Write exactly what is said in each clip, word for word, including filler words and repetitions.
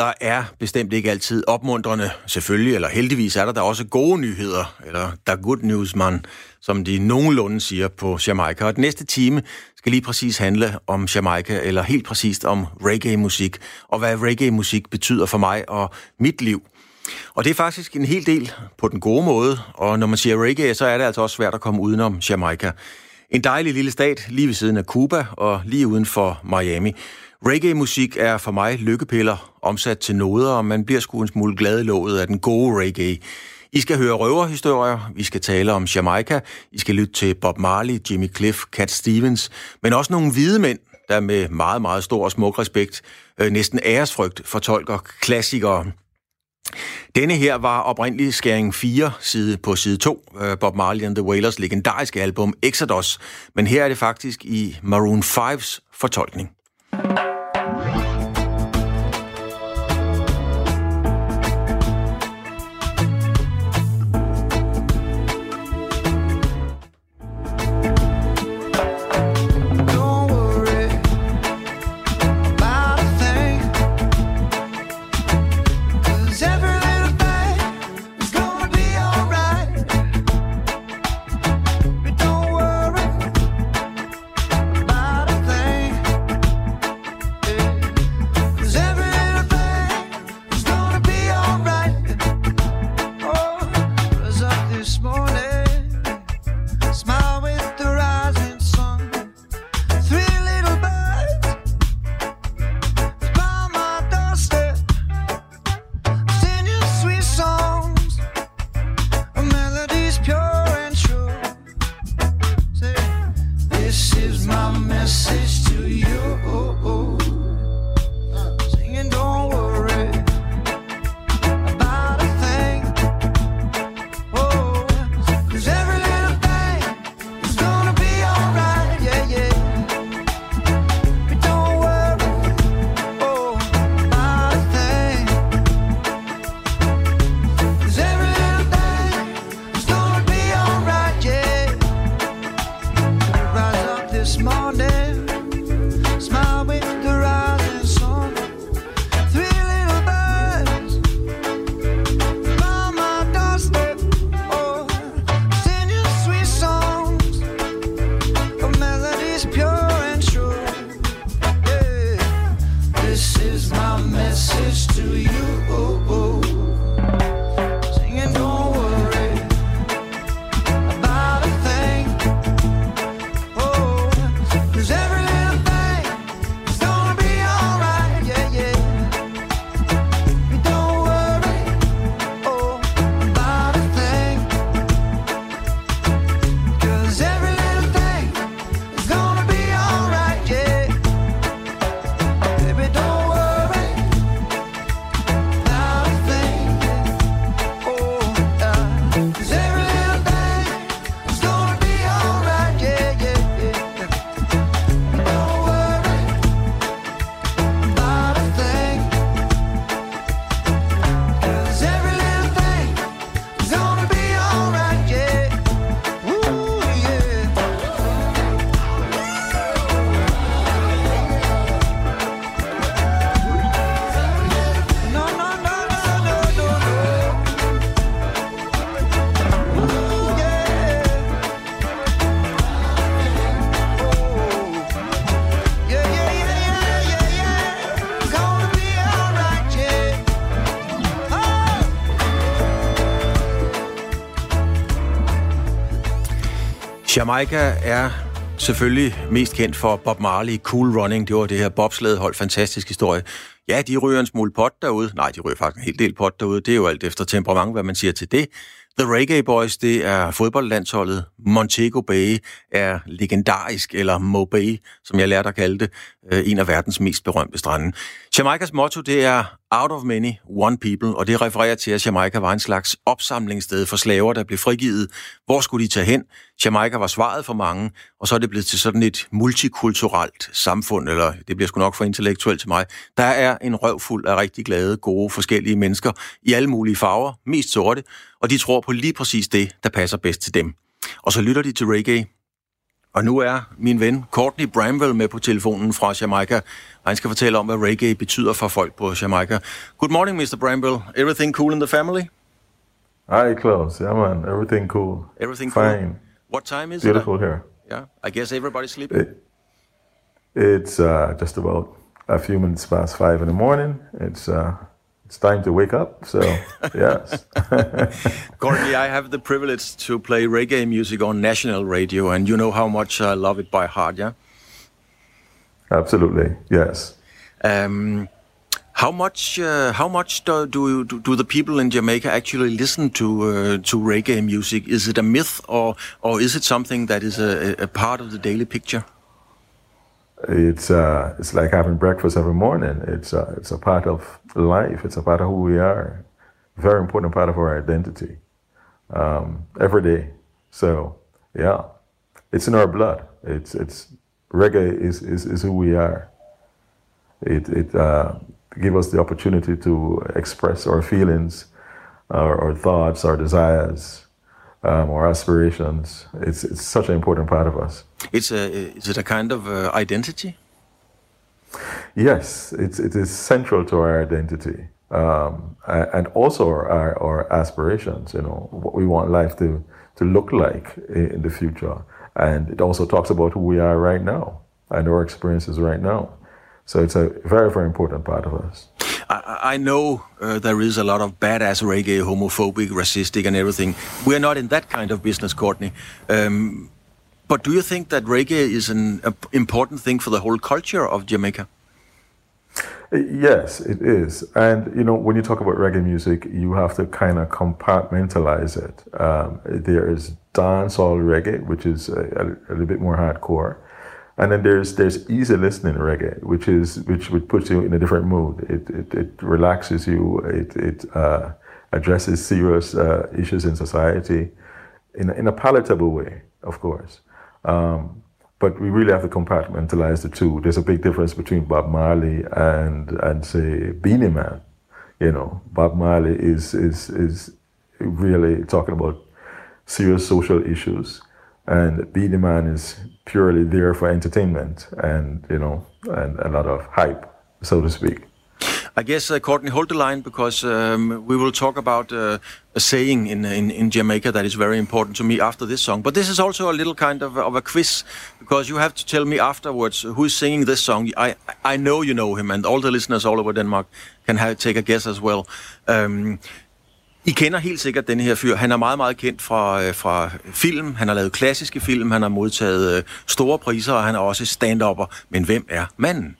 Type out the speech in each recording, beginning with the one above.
Nyheder er bestemt ikke altid opmuntrende, selvfølgelig, eller heldigvis er der der også gode nyheder, eller der good news, man, som de nogenlunde siger på Jamaica. Og den næste time skal lige præcis handle om Jamaica, eller helt præcist om reggae-musik, og hvad reggae-musik betyder for mig og mit liv. Og det er faktisk en hel del på den gode måde, og når man siger reggae, så er det altså også svært at komme udenom Jamaica. En dejlig lille stat lige ved siden af Cuba og lige uden for Miami. Reggae-musik er for mig lykkepiller omsat til noder, og man bliver sgu en smule glad i låget af den gode reggae. I skal høre røverhistorier, vi skal tale om Jamaica, I skal lytte til Bob Marley, Jimmy Cliff, Cat Stevens, men også nogle hvide mænd, der med meget, meget stor og smuk respekt, øh, næsten æresfrygt, fortolker klassikere. Denne her var oprindelig skæring fire side på side to, Bob Marley and the Wailers legendariske album Exodus, men her er det faktisk i Maroon fives fortolkning. Jamaica er selvfølgelig mest kendt for Bob Marley, Cool Running. Det var det her bobslædehold, fantastisk historie. Ja, de ryger en smule pot derude. Nej, de ryger faktisk en hel del pot derude. Det er jo alt efter temperament, hvad man siger til det. The Reggae Boys, det er fodboldlandsholdet. Montego Bay er legendarisk, eller Mo Bay, som jeg lærte at kalde det, en af verdens mest berømte strande. Jamaicas motto, det er Out of Many, One People, og det refererer til, at Jamaica var en slags opsamlingssted for slaver, der blev frigivet. Hvor skulle de tage hen? Jamaica var svaret for mange, og så er det blevet til sådan et multikulturelt samfund, eller det bliver sgu nok for intellektuelt til mig. Der er en røvfuld af rigtig glade, gode, forskellige mennesker i alle mulige farver, mest sorte, og de tror på lige præcis det, der passer bedst til dem. Og så lytter de til reggae, Og nu er min ven Courtney Bramwell med på telefonen fra Jamaica. Han skal fortælle om, hvad reggae betyder for folk på Jamaica. Good morning, mister Bramwell. Everything cool in the family? Hi, Klaus. Yeah, man. Everything cool. Everything Fine. cool? What time is Beautiful it? here. Yeah, I guess everybody's sleeping. It, it's uh, just about a few minutes past five in the morning. It's uh, it's time to wake up. So yes. Courtney, I have the privilege to play reggae music on national radio, and you know how much I love it by heart. Yeah. Absolutely. Yes. Um, how much? Uh, how much do do, do the people in Jamaica actually listen to uh, to reggae music? Is it a myth, or or is it something that is a, a part of the daily picture? It's uh, it's like having breakfast every morning. It's uh, it's a part of life. It's a part of who we are. Very important part of our identity. Um, every day. So yeah, it's in our blood. It's it's reggae is is, is who we are. It it uh, gives us the opportunity to express our feelings, our, our thoughts, our desires. Um, our aspirations. It's it's such an important part of us. It's a is it a kind of uh, identity? Yes, it's it is central to our identity, um, and also our our aspirations. You know what we want life to to look like in the future, and it also talks about who we are right now and our experiences right now. So it's a very very important part of us. I, I know uh, there is a lot of badass reggae, homophobic, racistic, and everything. We're not in that kind of business, Courtney. Um, but do you think that reggae is an a important thing for the whole culture of Jamaica? Yes, it is. And, you know, when you talk about reggae music, you have to kind of compartmentalize it. Um, there is dancehall reggae, which is a, a, a little bit more hardcore. And then there's there's easy listening reggae, which is which would put you in a different mood. It it, it relaxes you. It it uh, addresses serious uh, issues in society, in in a palatable way, of course. Um, but we really have to compartmentalize the two. There's a big difference between Bob Marley and and say Beenie Man. You know, Bob Marley is is is really talking about serious social issues. And Beenie Man is purely there for entertainment and, you know, and a lot of hype, so to speak. I guess, uh, Courtney, hold the line, because um, we will talk about uh, a saying in, in in Jamaica that is very important to me after this song. But this is also a little kind of, of a quiz, because you have to tell me afterwards who is singing this song. I I know you know him, and all the listeners all over Denmark can have, take a guess as well. Um, I kender helt sikkert denne her fyr. Han er meget, meget kendt fra, fra film. Han har lavet klassiske film. Han har modtaget øh, store priser, og han er også stand-upper. Men hvem er manden?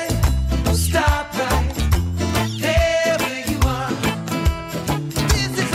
This is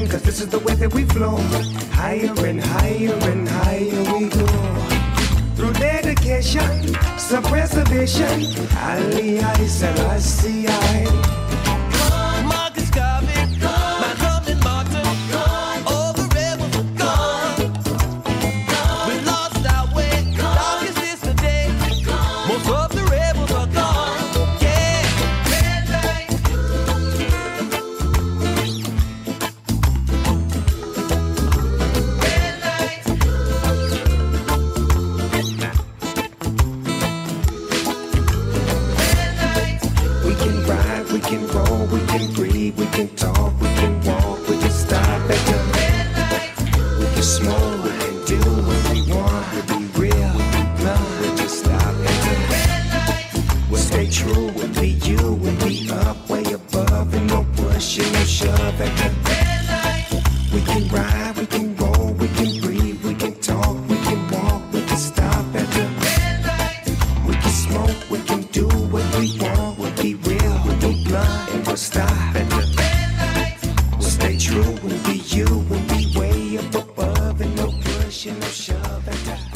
cause this is the way that we flow. Higher and higher and higher we go. Through dedication, self-preservation, Ali, I, Selassie, I. Marcus Garvey, Malcolm and Martin, all the rebels are gone. We lost our way, darkest is the day. Most of the rebels are gone. Yeah, red light. Red light. We can ride, we can roll, we can breathe, we can talk, we can walk, we can stop at the red light. We can smoke, we can do what we want, we'll be real, no, we just stop at the red light. We'll stay true, we'll be you, we'll be up way above, and no push and no shove at the red light. We can ride, we can roll, we can breathe, we can talk, we can walk, we can stop at the red light. We can smoke, we can do what we want, we'll be real, we'll be blunt, and we'll stop at the red light. We'll stay true, we'll be you, we'll be way up above, and no push and no shove at the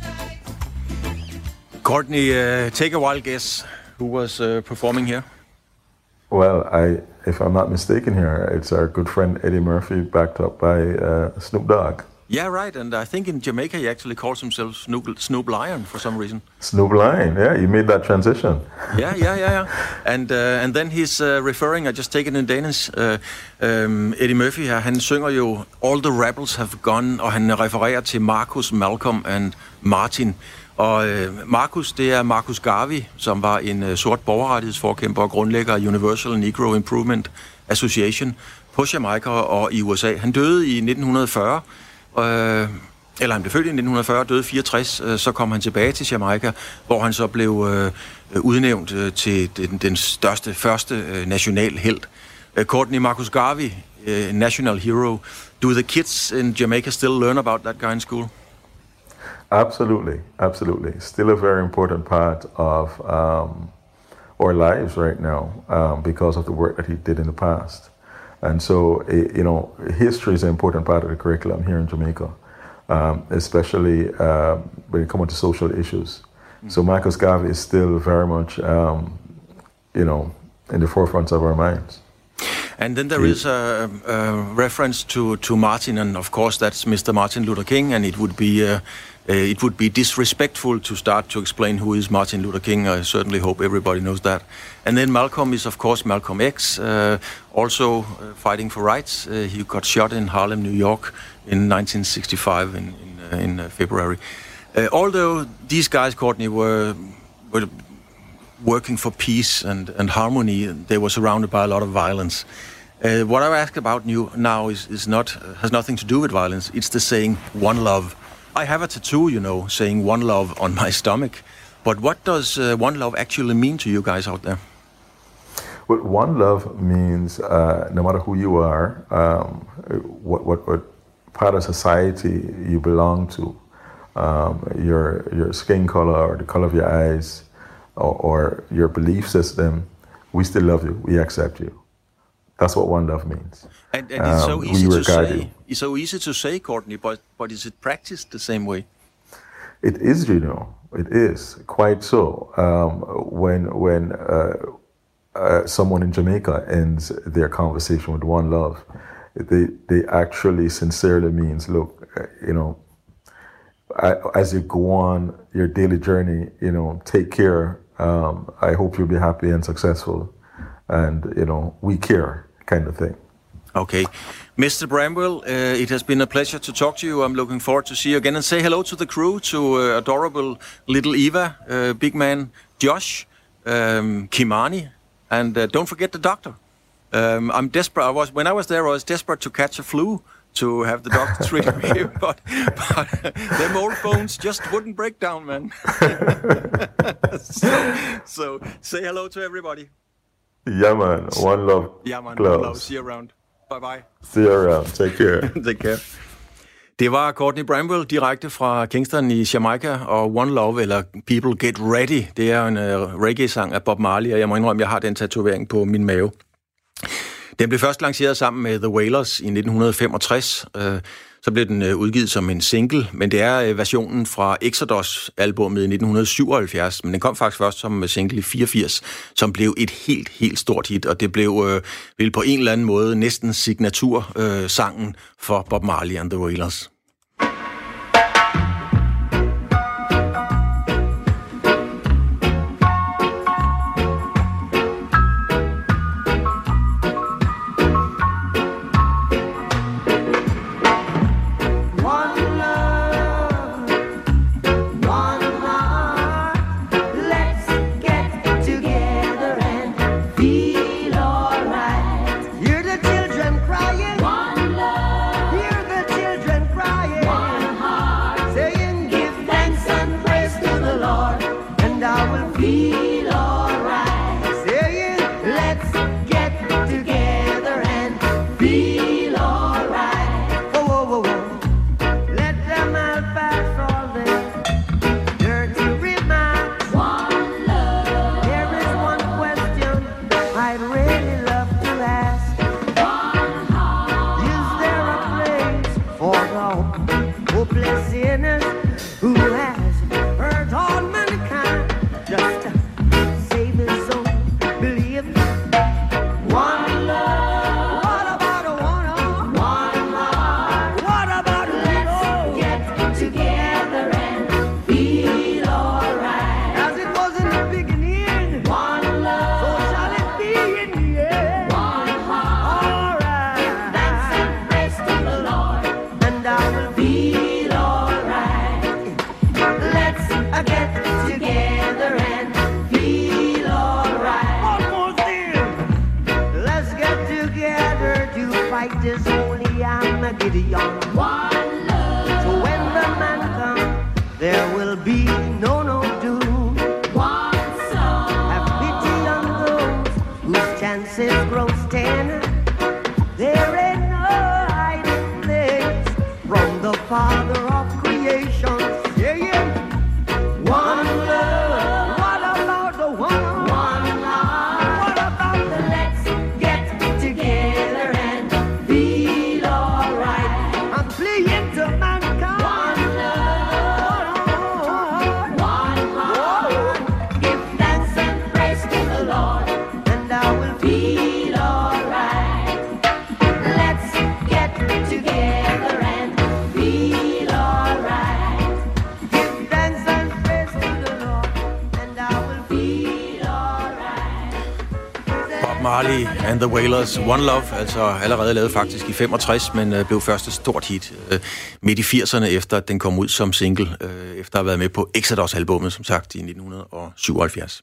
Courtney, uh, take a wild guess. Who was uh, performing here? Well, I, if I'm not mistaken here, it's our good friend Eddie Murphy, backed up by uh, Snoop Dogg. Yeah, right. And I think in Jamaica he actually calls himself Snoop, Snoop Lion for some reason. Snoop Lion, yeah, you made that transition. Yeah, yeah, yeah, yeah. And uh, and then he's uh, referring. I just take it in Danish. Uh, um, Eddie Murphy her, han synger jo All the Rebels Have Gone, og han refererer til Marcus, Malcolm and Martin. Og øh, Marcus, det er Marcus Garvey, som var en øh, sort borgerrettighedsforkæmper og grundlægger af Universal Negro Improvement Association på Jamaica og i U S A. Han døde i nitten fyrre. Øh, eller han blev født i nitten fyrre, døde fireogtres, øh, så kom han tilbage til Jamaica, hvor han så blev øh, udnævnt øh, til den, den største, første øh, national helt. Øh, Courtney, Marcus Garvey, øh, national hero. Do the kids in Jamaica still learn about that guy in school? Absolutely, absolutely. Still a very important part of um, our lives right now um, because of the work that he did in the past. And so, it, you know, history is an important part of the curriculum here in Jamaica, um, especially uh, when it comes to social issues. Mm-hmm. So Marcus Garvey is still very much, um, you know, in the forefront of our minds. And then there is a, a reference to, to Martin, and of course that's Mister Martin Luther King, and it would be uh, uh, it would be disrespectful to start to explain who is Martin Luther King. I certainly hope everybody knows that. And then Malcolm is of course Malcolm X, uh, also uh, fighting for rights. Uh, he got shot in Harlem, New York, in nineteen sixty-five in in, uh, in uh, February. Uh, although these guys, Courtney, were were working for peace and, and harmony, they were surrounded by a lot of violence. Uh, what I ask about you now is, is not uh, has nothing to do with violence. It's the saying "one love." I have a tattoo, you know, saying "one love" on my stomach. But what does uh, one love actually mean to you guys out there? Well, one love means uh, no matter who you are, um, what, what what part of society you belong to, um, your your skin color or the color of your eyes, or, or your belief system, we still love you. We accept you. That's what one love means. And, and it's so um, easy to say. You. It's so easy to say, Courtney. But but is it practiced the same way? It is, you know. It is quite so. Um, when when uh, uh, someone in Jamaica ends their conversation with one love, they they actually sincerely means, look, uh, you know, I, as you go on your daily journey, you know, take care. Um, I hope you'll be happy and successful, and you know, we care, kind of thing. Okay. Mister Bramwell, uh, it has been a pleasure to talk to you. I'm looking forward to see you again. And say hello to the crew, to uh, adorable little Eva, uh, big man Josh, um, Kimani, and uh, don't forget the doctor. Um, I'm desperate. I was When I was there, I was desperate to catch a flu to have the doctor treat me, but, but them old bones just wouldn't break down, man. so, so say hello to everybody. Yeah, man. One love. Yeah, man. Gloves. One love. See you around. Bye-bye. See you around. Take care. Take care. Det var Courtney Bramwell direkte fra Kingston i Jamaica, og One Love, eller People Get Ready, det er en uh, reggae-sang af Bob Marley, og jeg må indrømme, jeg har den tatovering på min mave. Den blev først lanceret sammen med The Wailers i nitten femogtres. Så blev den udgivet som en single, men det er versionen fra Exodus-albummet i nitten syvoghalvfjerds, men den kom faktisk først som single i fireogfirs, som blev et helt, helt stort hit, og det blev øh, vel på en eller anden måde næsten signatursangen øh, for Bob Marley and the Wailers. Marley and the Wailers, One Love, altså allerede lavet faktisk i femogtres, men øh, blev først et stort hit øh, midt i firserne, efter at den kom ud som single, øh, efter at have været med på Exodus-albummet, som sagt, i nitten syvoghalvfjerds.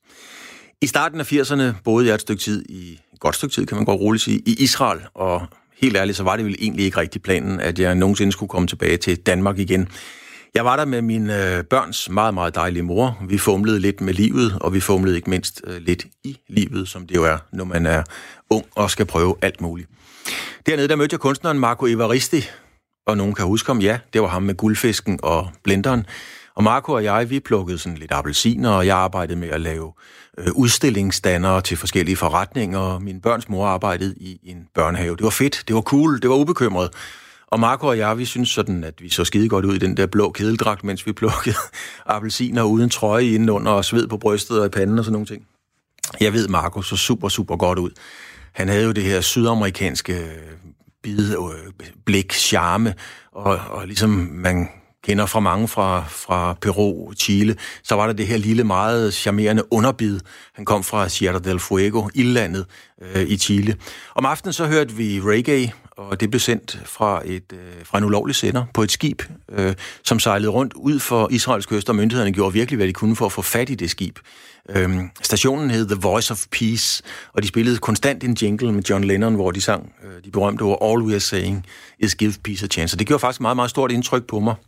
I starten af firserne boede jeg et stykke tid, i et godt stykke tid, kan man godt roligt sige, i Israel, og helt ærligt, så var det vel egentlig ikke rigtig planen, at jeg nogensinde skulle komme tilbage til Danmark igen. Jeg var der med min øh, børns meget, meget dejlige mor. Vi fumlede lidt med livet, og vi fumlede ikke mindst øh, lidt i livet, som det jo er, når man er ung og skal prøve alt muligt. Dernede, der mødte jeg kunstneren Marco Evaristi, og nogen kan huske ham, ja, det var ham med guldfisken og blenderen. Og Marco og jeg, vi plukkede sådan lidt appelsiner, og jeg arbejdede med at lave øh, udstillingsdannere til forskellige forretninger, og min børns mor arbejdede i en børnehave. Det var fedt, det var cool, det var ubekymret. Og Marco og jeg, vi synes sådan, at vi så skide godt ud i den der blå kedeldragt, mens vi plukkede appelsiner uden trøje indenunder og sved på brystet og i panden og sådan nogle ting. Jeg ved, Marco så super, super godt ud. Han havde jo det her sydamerikanske bid, blik, charme, og, og ligesom man kender fra mange fra, fra Peru, Chile, så var der det her lille, meget charmerende underbid. Han kom fra Sierra del Fuego, ildlandet øh, i Chile. Om aftenen så hørte vi reggae, og det blev sendt fra, et, øh, fra en ulovlig sender på et skib, øh, som sejlede rundt ud for Israels kyst, og myndighederne gjorde virkelig, hvad de kunne for at få fat i det skib. Øhm, stationen hed The Voice of Peace, og de spillede konstant en jingle med John Lennon, hvor de sang øh, de berømte ord, All we are saying is give peace a chance. Og det gjorde faktisk meget, meget stort indtryk på mig,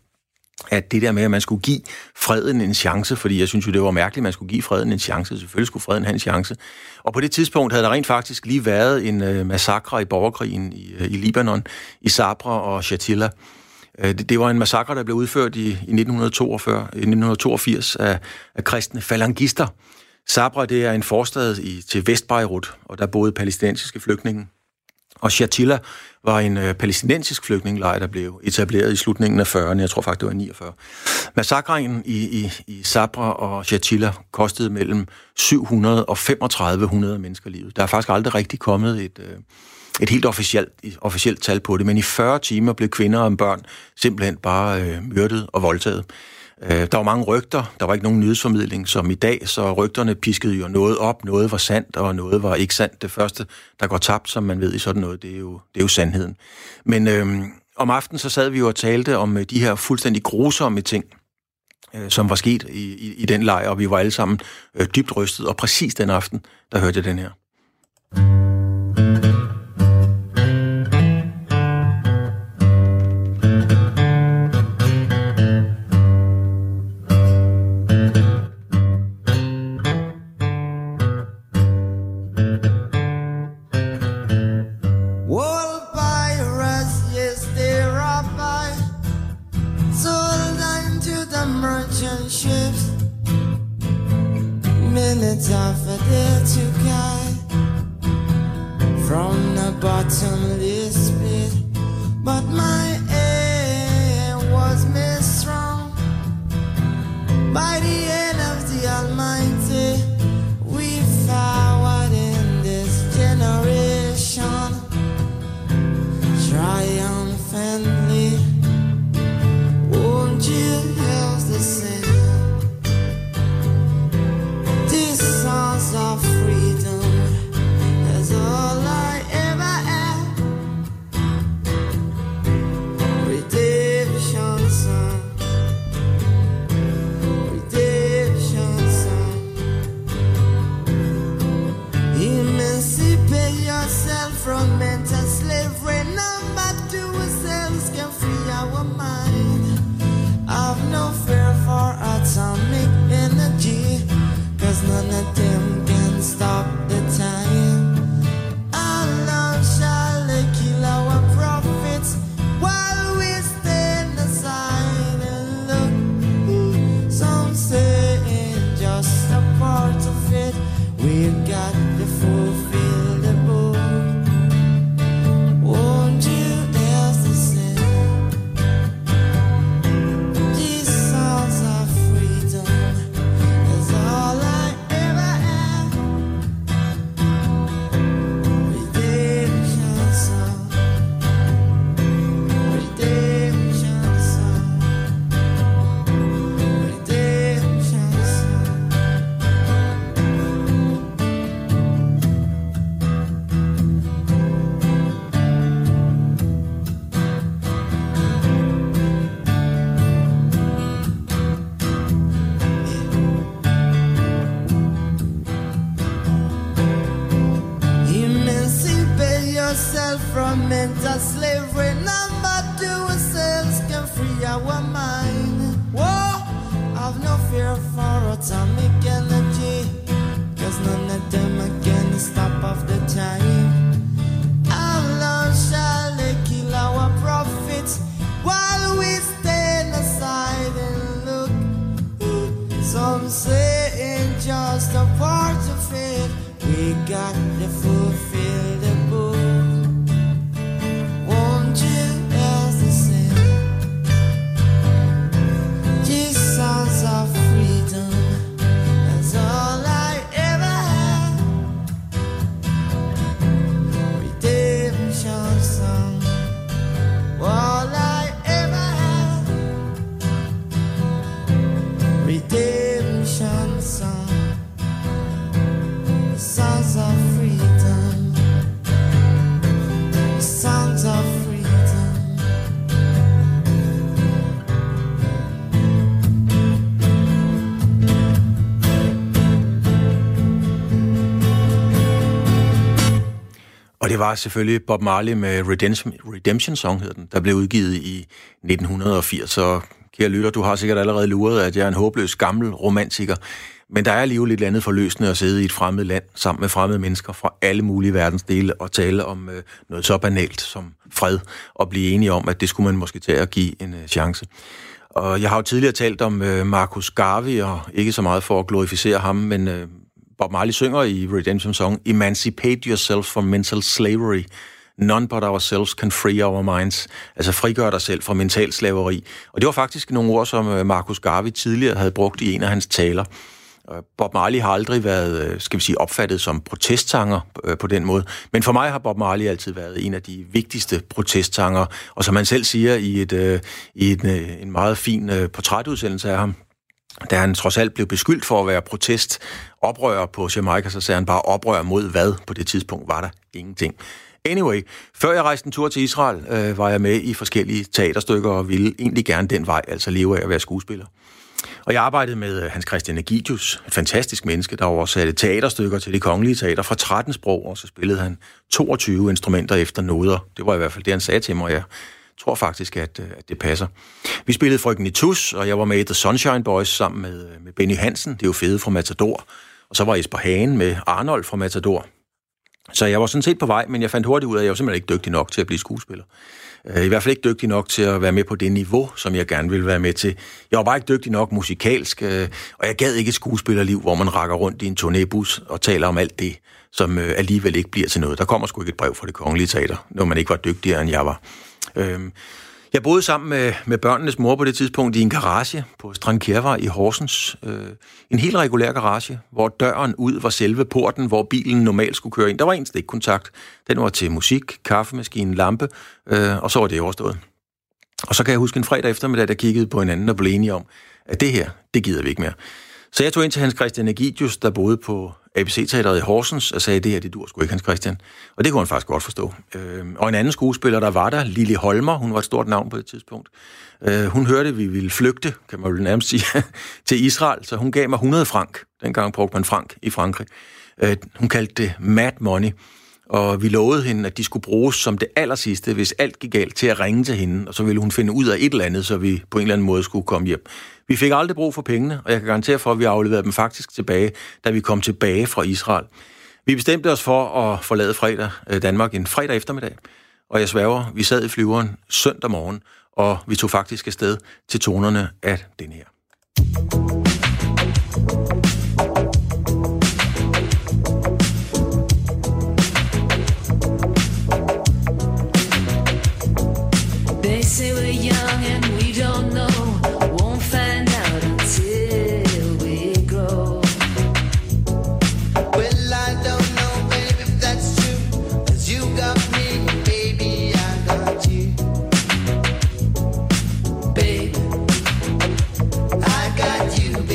at det der med, at man skulle give freden en chance, fordi jeg synes jo, det var mærkeligt, at man skulle give freden en chance. Selvfølgelig skulle freden have en chance. Og på det tidspunkt havde der rent faktisk lige været en øh, massakre i borgerkrigen i, øh, i Libanon, i Sabra og Shatila. Øh, det, det var en massakre, der blev udført i, i nitten toogfyrre, i nitten toogfirs af, af kristne falangister. Sabra, det er en forstad i, til Vestbeirut, og der boede palæstinensiske flygtninge. Og Shatila var en øh, palæstinensisk flygtningelejr, der blev etableret i slutningen af fyrrerne. Jeg tror faktisk, det var niogfyrre. Massakren i, i, i Sabra og Shatila kostede mellem syv hundrede og femogtredive hundrede mennesker livet. Der er faktisk aldrig rigtig kommet et, øh, et helt officielt, officielt tal på det, men i fyrre timer blev kvinder og børn simpelthen bare øh, myrdet og voldtaget. Der var mange rygter, der var ikke nogen nyhedsformidling som i dag, så rygterne piskede jo noget op, noget var sandt, og noget var ikke sandt. Det første, der går tabt, som man ved i sådan noget, det er jo, det er jo sandheden. Men øhm, om aftenen så sad vi jo og talte om de her fuldstændig grusomme ting, øh, som var sket i, i, i den lejr, og vi var alle sammen øh, dybt rystet, og præcis den aften, der hørte jeg den her. Det var selvfølgelig Bob Marley med Redemption, Redemption Song, hedder den, der blev udgivet i nitten firs. Så kære lytter, du har sikkert allerede luret, at jeg er en håbløs gammel romantiker. Men der er alligevel lidt andet forløsende at sidde i et fremmed land sammen med fremmede mennesker fra alle mulige verdensdele og tale om øh, noget så banalt som fred og blive enige om, at det skulle man måske tage at give en øh, chance. Og jeg har jo tidligere talt om øh, Marcus Garvey, og ikke så meget for at glorificere ham, men øh, Bob Marley synger i Redemption Song, Emancipate yourself from mental slavery. None but ourselves can free our minds. Altså frigør dig selv fra mental slaveri. Og det var faktisk nogle ord, som Marcus Garvey tidligere havde brugt i en af hans taler. Bob Marley har aldrig været, skal vi sige, opfattet som protestsanger på den måde. Men for mig har Bob Marley altid været en af de vigtigste protestsanger. Og som han selv siger i, et, i en, en meget fin portrætudsendelse af ham, da han trods alt blev beskyldt for at være protest-oprører på Jamaica, så sagde han bare oprør mod hvad? På det tidspunkt var der ingenting. Anyway, før jeg rejste en tur til Israel, øh, var jeg med i forskellige teaterstykker og ville egentlig gerne den vej, altså leve af at være skuespiller. Og jeg arbejdede med Hans Christian Ægidius, et fantastisk menneske, der oversatte teaterstykker til Det Kongelige Teater fra tretten sprog, og så spillede han toogtyve instrumenter efter noder. Det var i hvert fald det, han sagde til mig, og jeg tror faktisk, at, at det passer. Vi spillede Frøken i Tus, og jeg var med i The Sunshine Boys sammen med, med Benny Hansen, det er jo fede fra Matador. Og så var Jesper Hagen med Arnold fra Matador. Så jeg var sådan set på vej, men jeg fandt hurtigt ud af, at jeg var simpelthen ikke dygtig nok til at blive skuespiller. I hvert fald ikke dygtig nok til at være med på det niveau, som jeg gerne ville være med til. Jeg var bare ikke dygtig nok musikalsk, og jeg gad ikke et skuespillerliv, hvor man rakker rundt i en turnébus og taler om alt det, som alligevel ikke bliver til noget. Der kommer sgu ikke et brev fra Det Kongelige Teater, når man ikke var dygtigere, end jeg var. Jeg boede sammen med, med børnenes mor på det tidspunkt i en garage på Strandkjærvej i Horsens. En helt regulær garage, hvor døren ud var selve porten, hvor bilen normalt skulle køre ind. Der var en stikkontakt. Den var til musik, kaffemaskine, lampe, og så var det overstået. Og så kan jeg huske en fredag eftermiddag, der kiggede på hinanden og blev enige om, at det her, det gider vi ikke mere. Så jeg tog ind til Hans Christian Ægidius, der boede på A B C-teateret i Horsens, og sagde, det her, det dur sgu ikke, Hans Christian. Og det kunne han faktisk godt forstå. Øh, og en anden skuespiller, der var der, Lili Holmer, hun var et stort navn på det tidspunkt. Øh, hun hørte, at vi ville flygte, kan man vel nærmest sige, til Israel, så hun gav mig hundrede frank. Dengang brugte man frank i Frankrig. Øh, hun kaldte det mad money. Og vi lovede hende, at de skulle bruges som det allersidste, hvis alt gik galt, til at ringe til hende, og så ville hun finde ud af et eller andet, så vi på en eller anden måde skulle komme hjem. Vi fik aldrig brug for pengene, og jeg kan garantere for, at vi afleverede dem faktisk tilbage, da vi kom tilbage fra Israel. Vi bestemte os for at forlade fredag, Danmark en fredag eftermiddag, og jeg sværger, vi sad i flyveren søndag morgen, og vi tog faktisk afsted til tonerne af den her. Say we're young and we don't know, won't find out until we grow. Well, I don't know, baby, if that's true. 'Cause you got me, baby, I got you. Baby, I got you,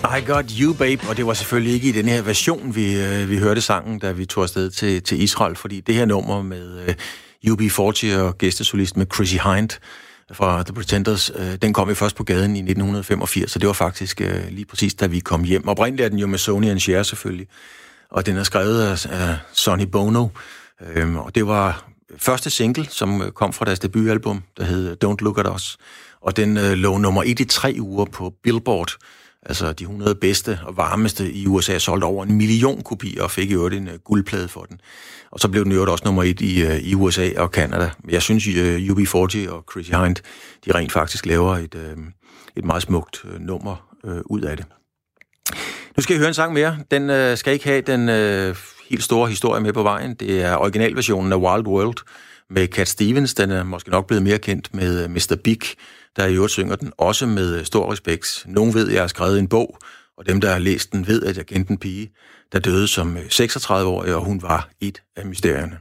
I Got You, Babe, og det var selvfølgelig ikke i den her version, vi, øh, vi hørte sangen, da vi tog afsted til, til Israel, fordi det her nummer med øh, U B fyrre og gæstesolist med Chrissy Hind fra The Pretenders, øh, den kom jo først på gaden i nitten femogfirs, så det var faktisk øh, lige præcis, da vi kom hjem. Oprindeligt er den jo med Sonny and Cher selvfølgelig, og den er skrevet af, af Sonny Bono, øh, og det var første single, som kom fra deres debutalbum, der hed Don't Look At Us, og den øh, lå nummer et i tre uger på Billboard, altså de hundrede bedste og varmeste i U S A, solgte over en million kopier og fik i øvrigt en uh, guldplade for den. Og så blev den i øvrigt også nummer et i, uh, i U S A og Canada. Jeg synes, uh, U B fyrre og Chrissy Hind, de rent faktisk laver et, uh, et meget smukt uh, nummer uh, ud af det. Nu skal I høre en sang mere. Den uh, skal ikke have den uh, helt store historie med på vejen. Det er originalversionen af Wild World med Cat Stevens. Den er måske nok blevet mere kendt med uh, mister Big, der i øvrigt synger den også med stor respekt. Nogen ved, at jeg har skrevet en bog, og dem, der har læst den, ved, at jeg kendte en pige, der døde som seksogtredive-årig, og hun var et af mysterierne.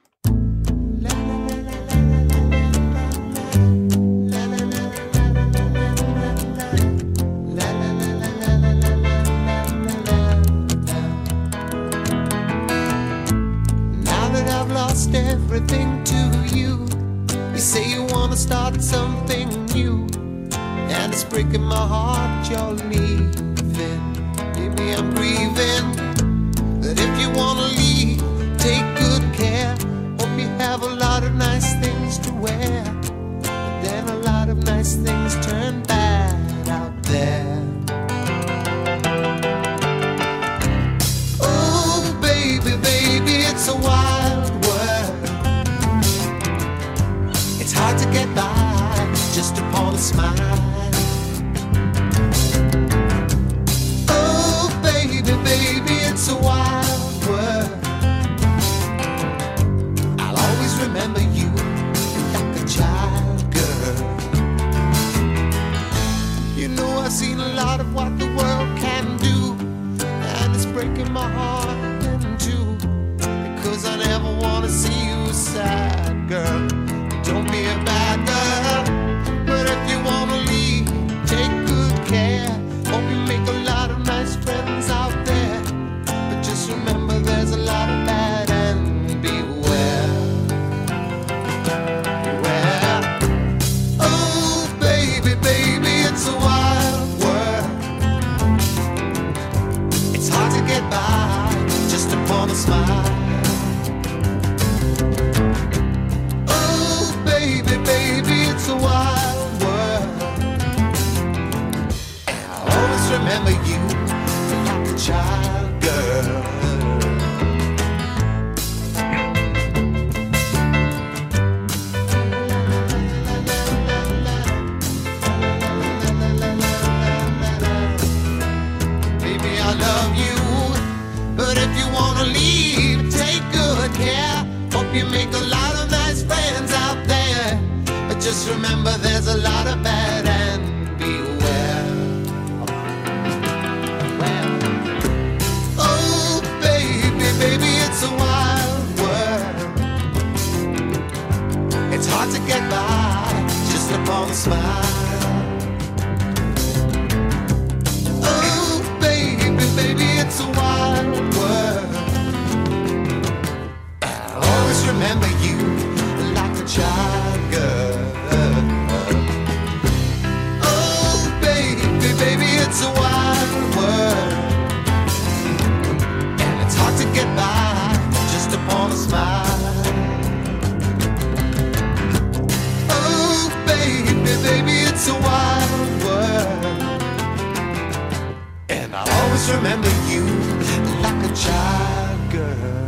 Now that I've lost everything to you, you say you wanna start something new, and it's breaking my heart you're leaving. Maybe I'm grieving, but if you wanna leave, take good care. Hope you have a lot of nice things to wear, but then a lot of nice things turn bad out there. Oh baby, baby, it's a wild world. It's hard to get by just upon a smile. Oh baby, baby, it's a wild world. I'll always remember you like a child girl. You know I've seen a lot of what the world can do, and it's breaking my heart in two, because I never want to see you sad, girl. Don't be a bad girl, but if you wanna leave, take good care. Hope you make a lot of nice friends out there, but just remember there's a lot of bad and beware. Beware. Oh baby, baby, it's a wild world. It's hard to get by just upon a smile. Baby, baby, it's a wild world. I'll always remember you like a child girl. Baby, I love you, but if you wanna leave, take good care. Hope you make a lot of nice friends out there, but just remember there's a lot of bad and beware. Well, oh baby, baby, it's a wild world. It's hard to get by just upon a smile. Oh baby, baby, it's a wild world. I'll always remember you like a child girl. Oh baby, baby, it's a wild world, and it's hard to get by just upon a smile. Oh baby, baby, it's a wild world, and I'll always remember you like a child girl.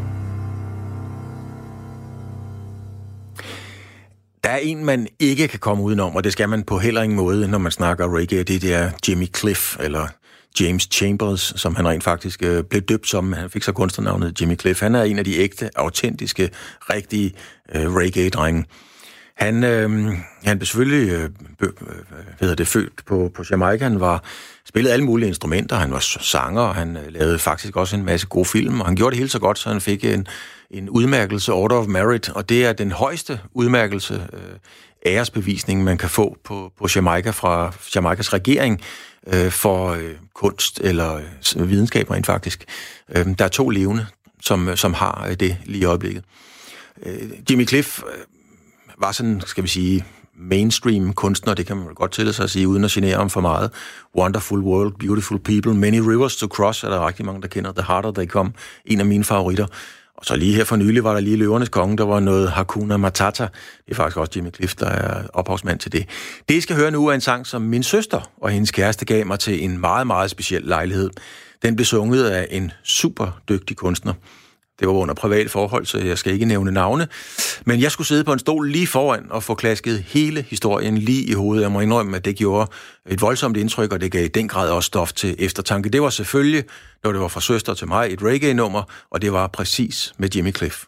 Der er en, man ikke kan komme udenom, og det skal man på heller ingen måde, når man snakker reggae. Det er Jimmy Cliff, eller James Chambers, som han rent faktisk øh, blev døbt som. Han fik så kunstnernavnet Jimmy Cliff. Han er en af de ægte, autentiske, rigtige øh, reggae-drenge. Han, øh, han blev selvfølgelig øh, øh, hvad hedder det, født på, på Jamaica. Han var spillede alle mulige instrumenter. Han var sanger, og han øh, lavede faktisk også en masse gode film, og han gjorde det helt så godt, så han fik en, en udmærkelse, Order of Merit, og det er den højeste udmærkelse, øh, æresbevisning, man kan få på, på Jamaica fra Jamaicas regering øh, for øh, kunst eller øh, videnskab rent faktisk. Øh, der er to levende, som, som har øh, det lige i øjeblikket. Øh, Jimmy Cliff øh, var sådan, skal vi sige, mainstream kunstner, det kan man godt tillade sig at sige, uden at genere ham for meget. Wonderful World, Beautiful People, Many Rivers to Cross, er der rigtig mange, der kender. The Harder They Come, en af mine favoritter. Og så lige her for nylig var der lige Løvernes Konge, der var noget Hakuna Matata. Det er faktisk også Jimmy Cliff, der er ophavsmand til det. Det, I skal høre nu, er en sang, som min søster og hendes kæreste gav mig til en meget, meget speciel lejlighed. Den blev sunget af en super dygtig kunstner. Det var under private forhold, så jeg skal ikke nævne navne. Men jeg skulle sidde på en stol lige foran og få klasket hele historien lige i hovedet. Jeg må indrømme, at det gjorde et voldsomt indtryk, og det gav i den grad også stof til eftertanke. Det var selvfølgelig, når det var fra søster til mig, et reggae-nummer, og det var præcis med Jimmy Cliff.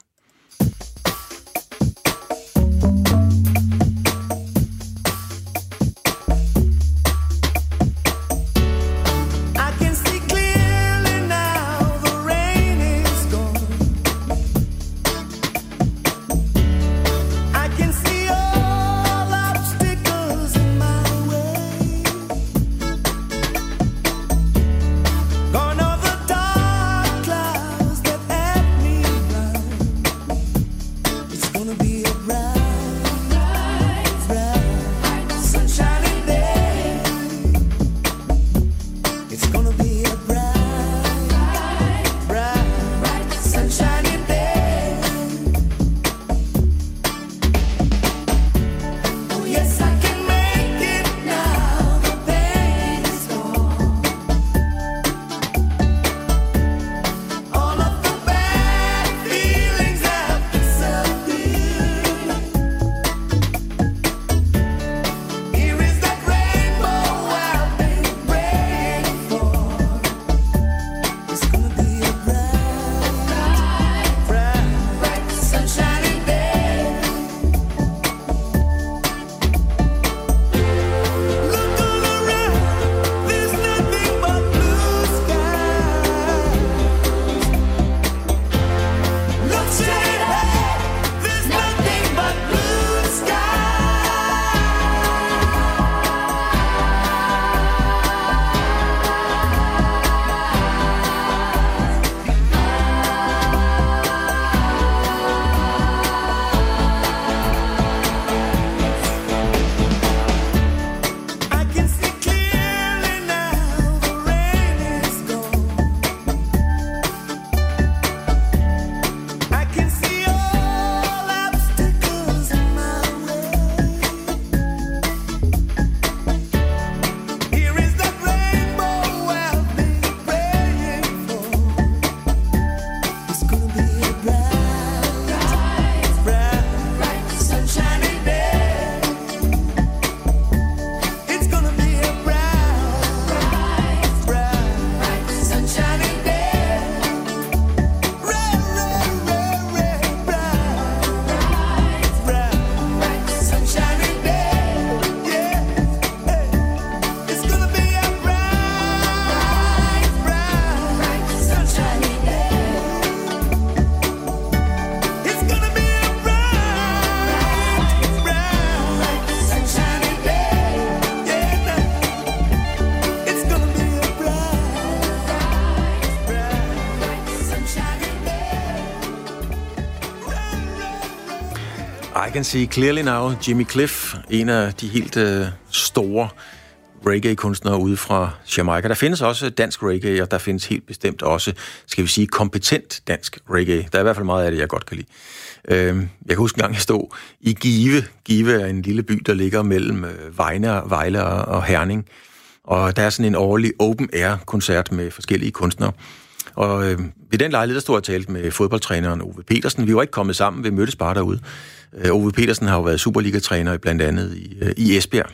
I Can See Clearly Now, Jimmy Cliff, en af de helt øh, store reggae-kunstnere ude fra Jamaica. Der findes også dansk reggae, og der findes helt bestemt også, skal vi sige, kompetent dansk reggae. Der er i hvert fald meget af det, jeg godt kan lide. Øh, jeg kan huske en gang, jeg stod i Give. Give er en lille by, der ligger mellem øh, Vejle, Vejle og Herning. Og der er sådan en årlig open-air-koncert med forskellige kunstnere. Og øh, ved den lejlighed, der stod jeg og talte med fodboldtræneren Ove Petersen. Vi var ikke kommet sammen, vi mødtes bare derude. Øh, Ove Petersen har jo været Superliga-træner blandt andet i, øh, i Esbjerg.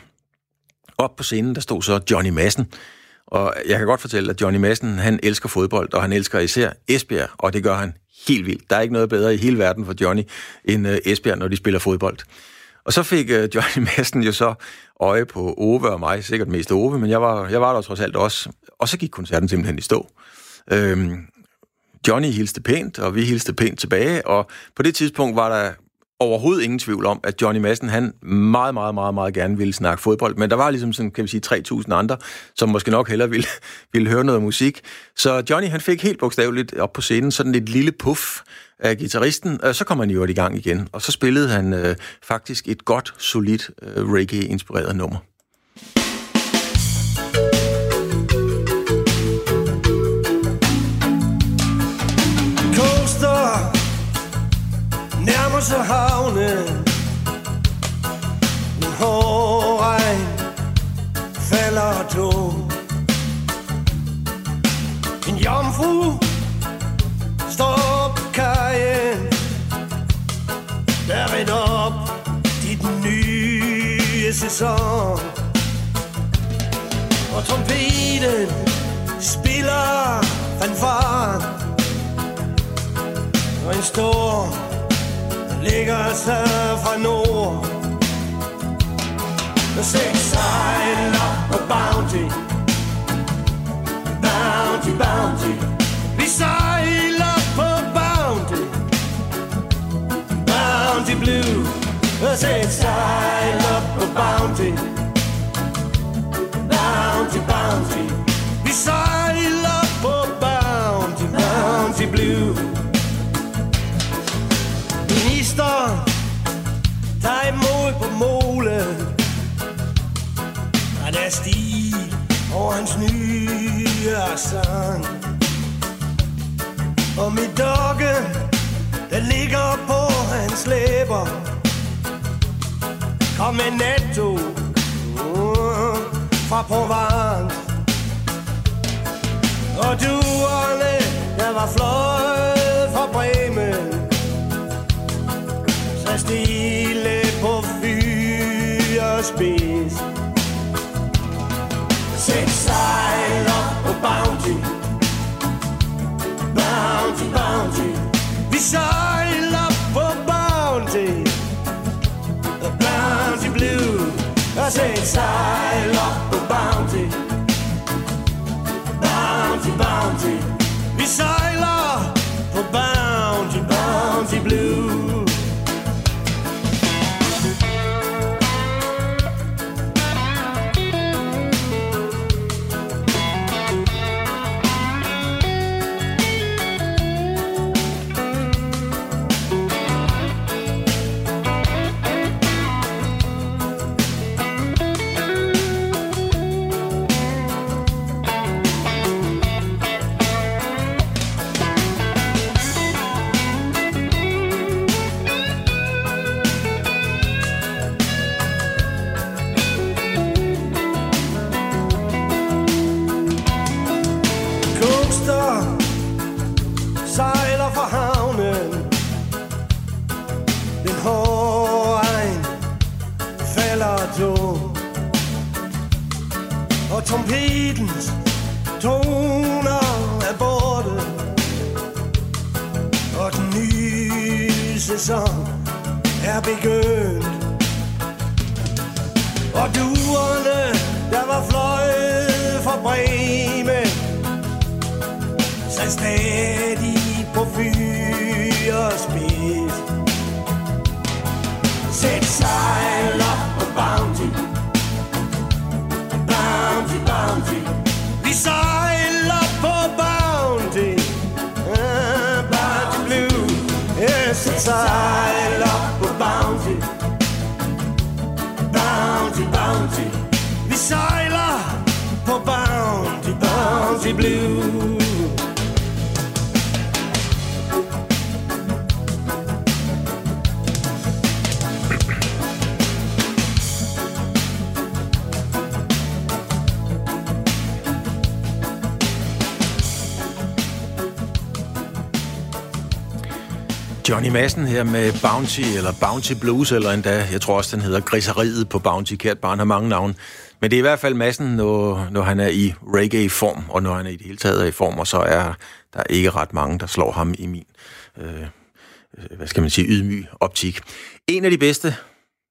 Op på scenen, der stod så Johnny Madsen. Og jeg kan godt fortælle, at Johnny Madsen, han elsker fodbold, og han elsker især Esbjerg, og det gør han helt vildt. Der er ikke noget bedre i hele verden for Johnny end øh, Esbjerg, når de spiller fodbold. Og så fik uh, Johnny Madsen jo så øje på Ove og mig, sikkert mest Ove, men jeg var, jeg var der trods alt også. Og så gik koncerten simpelthen i stå. Øhm, Johnny hilste pænt, og vi hilste pænt tilbage, og på det tidspunkt var der overhovedet ingen tvivl om, at Johnny Madsen, han meget, meget, meget, meget gerne ville snakke fodbold, men der var ligesom sådan, kan vi sige, tre tusind andre, som måske nok hellere ville, ville høre noget musik. Så Johnny, han fik helt bogstaveligt op på scenen sådan et lille puff af guitaristen, og så kom han jo i gang igen, og så spillede han øh, faktisk et godt, solidt øh, reggae-inspireret nummer. Nærmer sig havnen. En hård regn falder tung. En jomfru står på kajen, der rinder op i den nye sæson. Og trompeten spiller fanfaren, og en storm ligger sig fra nord. Og seks sejler på Bounty, Bounty, Bounty. Vi sejler på Bounty, Bounty Blue. Og seks sejler på Bounty, Bounty, Bounty. Vi sejler på Bounty, Bounty Blue. Ministeren tager imod på målet, og der er stil over hans nye sang. Og mit dogge, der ligger på hans læber, kom med netto uh, fra Provence. Og duerne, der var fløjet fra Bremen, så stille på fyrspids. Sæt sejler på Bounty, Bounty, Bounty. Vi sejler på Bounty, Bounty Blue. Og sæt sejler på Bounty, Bounty, Bounty. Vi sejler på Bounty, Bounty Blue. Sejler fra havnen, den hårde regn falder tung, og trompetens toner er borte, og den nye sæson er begyndt. Og duerne, der var fløjet fra Bremen, så stadig på fyrspids. Sæt sejler på Bounty, Bounty, Bounty. Vi sejler på Bounty, uh, Bounty Blue. Yeah, sæt sejler på Bounty, Bounty, Bounty. Vi sejler på Bounty, Bounty Blue. Johnny Madsen her med Bounty, eller Bounty Blues, eller endda, jeg tror også, den hedder Griseriet på Bounty. Kært barn har mange navne. Men det er i hvert fald Madsen, når, når han er i reggae-form, og når han er i det hele taget er i form, og så er der ikke ret mange, der slår ham i min, øh, hvad skal man sige, ydmyg optik. En af de bedste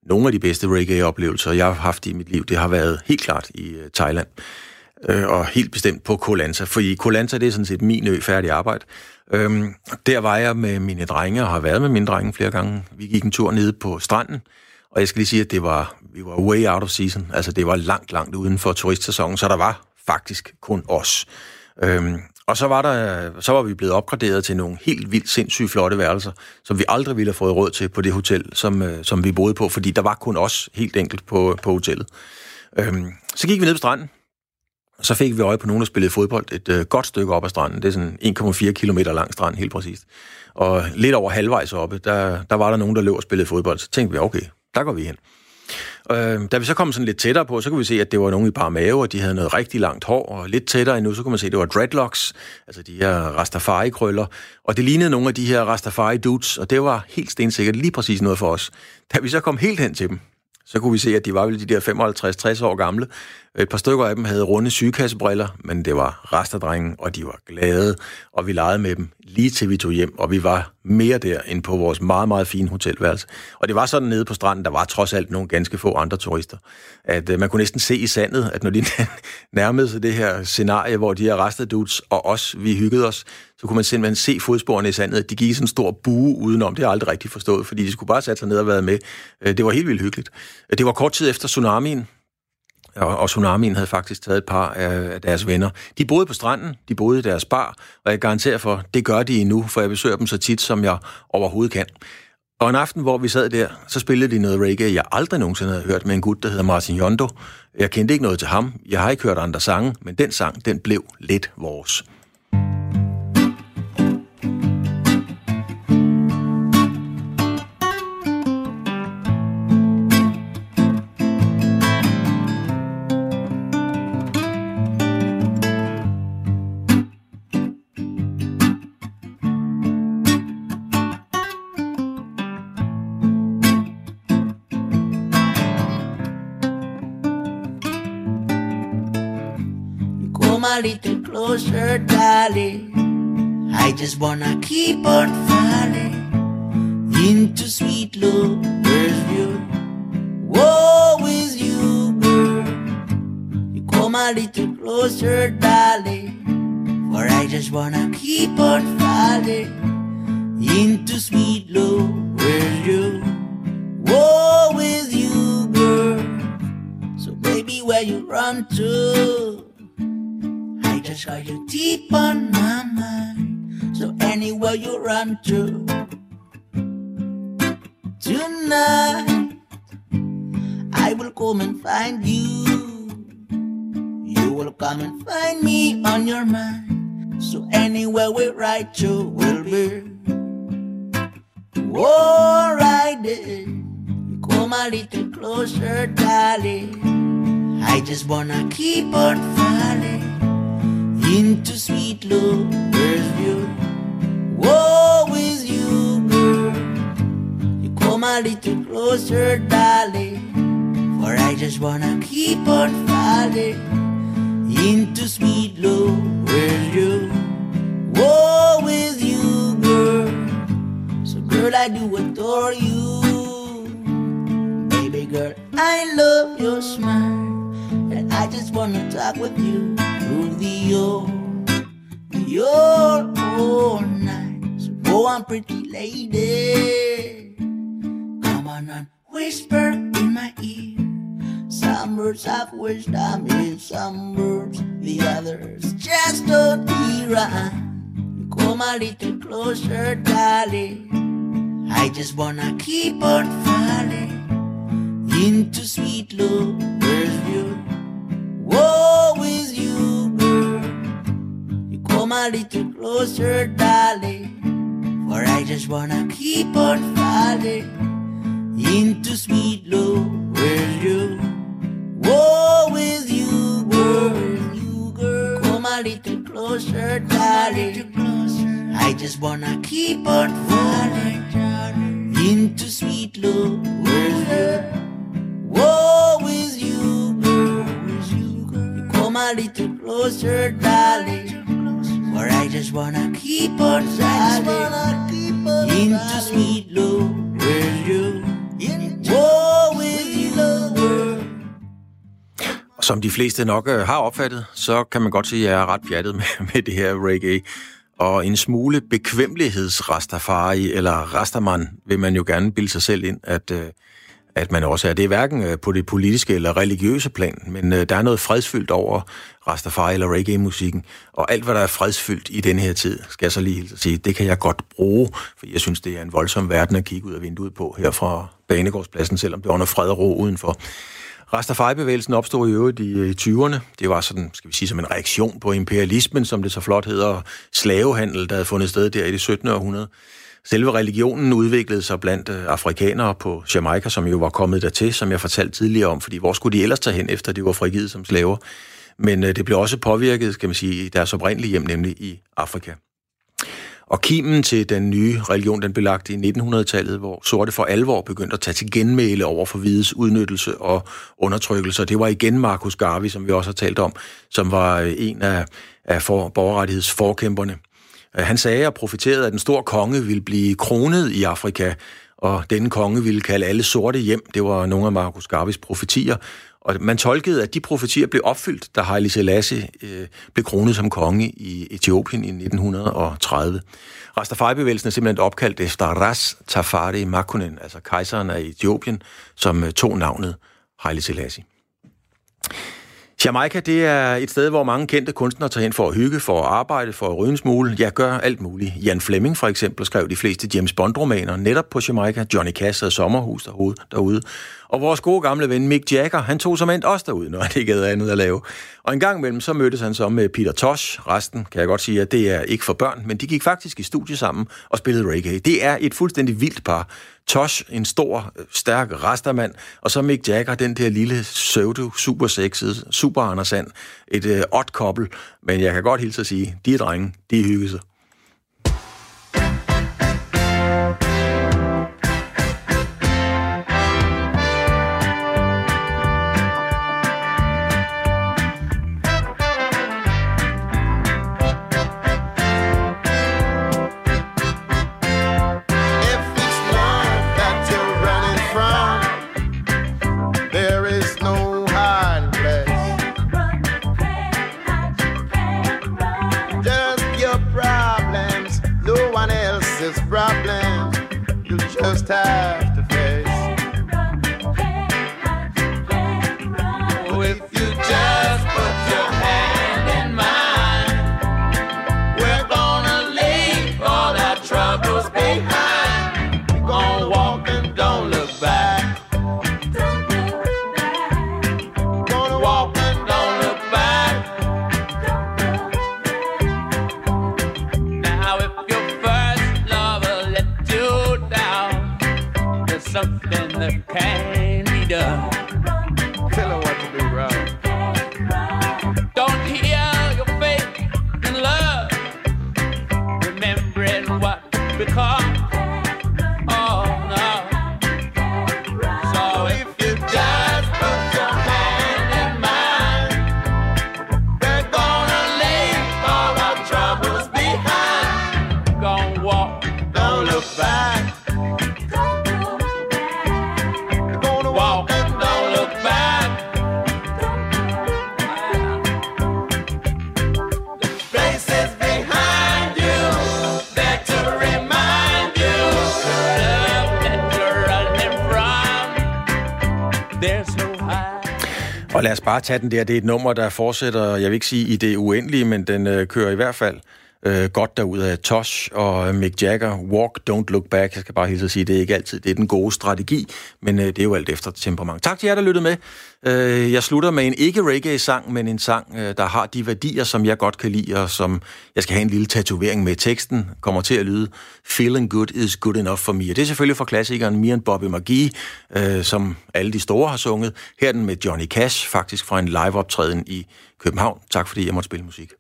nogle af de bedste reggae-oplevelser, jeg har haft i mit liv, det har været helt klart i uh, Thailand. Uh, og helt bestemt på Koh Lanta, for i Koh Lanta, det er sådan set min ø, færdig arbejde. Um, der var jeg med mine drenge, og har været med mine drenge flere gange. Vi gik en tur nede på stranden, og jeg skal lige sige, at det var, vi var way out of season. Altså, det var langt, langt uden for turistsæsonen, så der var faktisk kun os. Um, og så var, der, så var vi blevet opgraderet til nogle helt vildt sindssygt flotte værelser, som vi aldrig ville have fået råd til på det hotel, som, uh, som vi boede på, fordi der var kun os helt enkelt på, på hotellet. Um, så gik vi ned på stranden, og så fik vi øje på nogen, der spillede fodbold et uh, godt stykke op ad stranden. Det er sådan en komma fire kilometer lang strand, helt præcist. Og lidt over halvvejs oppe, der, der var der nogen, der løb og spillede fodbold. Så tænkte vi, okay, der går vi hen. Uh, da vi så kom sådan lidt tættere på, så kunne vi se, at det var nogen i bare mave, og de havde noget rigtig langt hår, og lidt tættere endnu, så kunne man se, at det var dreadlocks, altså de her Rastafari-krøller, og det lignede nogle af de her Rastafari-dudes, og det var helt stensikkert lige præcis noget for os. Da vi så kom helt hen til dem, så kunne vi se, at de var vel de der femoghalvtreds til tres år gamle. Et par stykker af dem havde runde sygekassebriller, men det var rasterdrenge, og de var glade, og vi legede med dem lige til vi tog hjem, og vi var mere der end på vores meget, meget fine hotelværelse. Og det var sådan nede på stranden, der var trods alt nogle ganske få andre turister, at uh, man kunne næsten se i sandet, at når de nærmede sig det her scenarie, hvor de her rasterddudes og os, vi hyggede os, så kunne man simpelthen se fodsporene i sandet, at de gik i sådan en stor bue udenom. Det har jeg aldrig rigtig forstået, fordi de skulle bare sætte sig ned og være med. Det var helt vildt hyggeligt. Det var kort tid efter tsunamien, og tsunamien havde faktisk taget et par af deres venner. De boede på stranden, de boede i deres bar, og jeg garanterer for, det gør de endnu, for jeg besøger dem så tit, som jeg overhovedet kan. Og en aften, hvor vi sad der, så spillede de noget reggae, jeg aldrig nogensinde havde hørt, med en gut, der hedder Martin Yondo. Jeg kendte ikke noget til ham, jeg har ikke hørt andre sange, men den sang, den blev lidt vores. A little closer, darling. I just wanna keep on falling into sweet lover's view. Whoa, with you, girl. You come a little closer, darling, for I just wanna keep on falling into sweet lover's view. Whoa, with you, girl. So baby, where you run to? I just got you deep on my mind. So anywhere you run to tonight, I will come and find you. You will come and find me on your mind. So anywhere we ride to will be alright then. You come a little closer, darling. I just wanna keep on falling into sweet lover's view. Whoa, with you, girl. You come a little closer, darling, for I just wanna keep on falling into sweet lover's view. Whoa, with you, girl. So girl, I do adore you. Baby girl, I love your smile, and I just wanna talk with you through the old, the old, all night. So go on, pretty lady, come on and whisper in my ear. Some words have wisdom in some words, the others just don't hear. You come a little closer, darling. I just wanna keep on falling into sweet lover's view. Whoa, with you, girl. You come a little closer, darling, for I just wanna keep on falling into sweet lover's view. Whoa, with you, girl. You, girl. Come a little closer, darling. I just wanna keep on falling into sweet lover's view. Whoa, with you, girl. You come a little closer, darling, for I just wanna keep on falling into sweet lover's view. Whoa, Som de fleste nok øh, har opfattet, så kan man godt sige, at jeg er ret pjattet med, med det her reggae. Og en smule bekvemmelighedsrastafari, eller rastaman, vil man jo gerne bilde sig selv ind, at, øh, at man også er. Det er hverken på det politiske eller religiøse plan, men øh, der er noget fredsfyldt over rastafari eller reggae-musikken. Og alt, hvad der er fredsfyldt i denne her tid, skal jeg så lige sige, det kan jeg godt bruge, for jeg synes, det er en voldsom verden at kigge ud af vinduet på her fra Banegårdspladsen, selvom det var noget fred og ro udenfor. Rastafari-bevægelsen opstod i øvrigt i tyverne. Det var sådan, skal vi sige, som en reaktion på imperialismen, som det så flot hedder, slavehandel, der havde fundet sted der i det syttende århundrede. Selve religionen udviklede sig blandt afrikanere på Jamaica, som jo var kommet dertil, som jeg fortalte tidligere om, fordi hvor skulle de ellers tage hen, efter de var frigivet som slaver? Men det blev også påvirket, skal man sige, i deres oprindelige hjem, nemlig i Afrika. Og kimen til den nye religion, den blev lagt i nitten hundrede-tallet, hvor sorte for alvor begyndte at tage til genmæle over for hvides udnyttelse og undertrykkelse. Det var igen Marcus Garvey, som vi også har talt om, som var en af, af for, borgerrettighedsforkæmperne. Han sagde og profeterede, at den store konge ville blive kronet i Afrika, og denne konge ville kalde alle sorte hjem. Det var nogle af Marcus Garveys profetier. Og man tolkede, at de profetier blev opfyldt, da Haile Selassie øh, blev kronet som konge i Etiopien i nitten tredive. Rastafari-bevægelsen er simpelthen opkaldt efter Ras Tafari Makunen, altså kejseren af Etiopien, som øh, tog navnet Haile Selassie. Jamaica, det er et sted, hvor mange kendte kunstnere tager hen for at hygge, for at arbejde, for at ryge en smule. Ja, gør alt muligt. Jan Fleming for eksempel skrev de fleste James Bond-romaner netop på Jamaica. Johnny Cash havde sommerhus derude. derude. Og vores gode gamle ven Mick Jagger, han tog som endt også derude, når han ikke havde andet at lave. Og en gang imellem, så mødtes han så med Peter Tosh. Resten kan jeg godt sige, at det er ikke for børn, men de gik faktisk i studie sammen og spillede reggae. Det er et fuldstændig vildt par. Tosh, en stor, stærk rastermand, og så Mick Jagger, den der lille pseudo, super sexede, super Andersand. Et øh, odd couple, men jeg kan godt hilse at sige, de er drenge, de hygger sig. Just have to face. Oh, if you just put your hand in mine, we're gonna leave all our troubles behind. We're gonna walk and don't look back. Gonna walk and don't look back. Now if your first lover let you down, something that can be done. Tell her what to do, bro. Don't hear your faith in love, remembering what become. Oh no. So if you just put your hand in mine, we're gonna leave all our troubles behind. Gonna walk, don't look back. Og lad os bare tage den der. Det er et nummer, der fortsætter, jeg vil ikke sige i det uendelige, men den øh, kører i hvert fald øh, godt derud af Tosh og Mick Jagger. Walk, don't look back. Jeg skal bare hilse at sige, det er ikke altid det er den gode strategi, men øh, det er jo alt efter temperament. Tak til jer, der lyttede med. Øh, jeg slutter med en ikke-reggae-sang, men en sang, øh, der har de værdier, som jeg godt kan lide, og som jeg skal have en lille tatovering med. Teksten kommer til at lyde Feeling good is good enough for me. Og det er selvfølgelig fra klassikeren Me and Bobby McGee, øh, som alle de store har sunget. Her er den med Johnny Cash, faktisk fra en live-optræden i København. Tak fordi jeg måtte spille musik.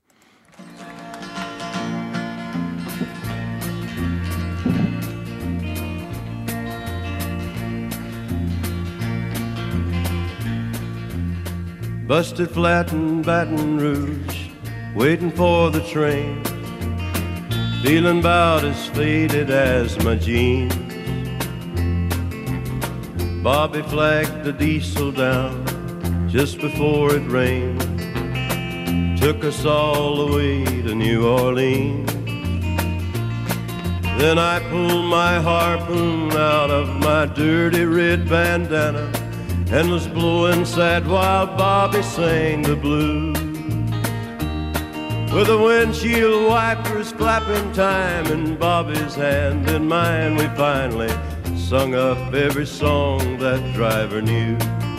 Busted flat in Baton Rouge, waiting for the train, feeling about as faded as my jeans. Bobby flagged the diesel down, just before it rained, took us all the way to New Orleans. Then I pulled my harpoon out of my dirty red bandana and was blowing sad while Bobby sang the blues. With the windshield wipers clapping time in Bobby's hand and mine, we finally sung up every song that driver knew.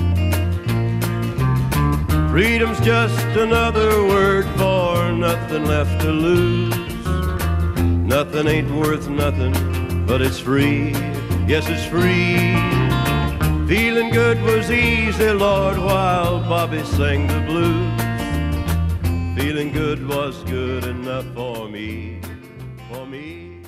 Freedom's just another word for nothing left to lose. Nothing ain't worth nothing, but it's free. Yes, it's free. Feeling good was easy, Lord, while Bobby sang the blues. Feeling good was good enough for me, for me.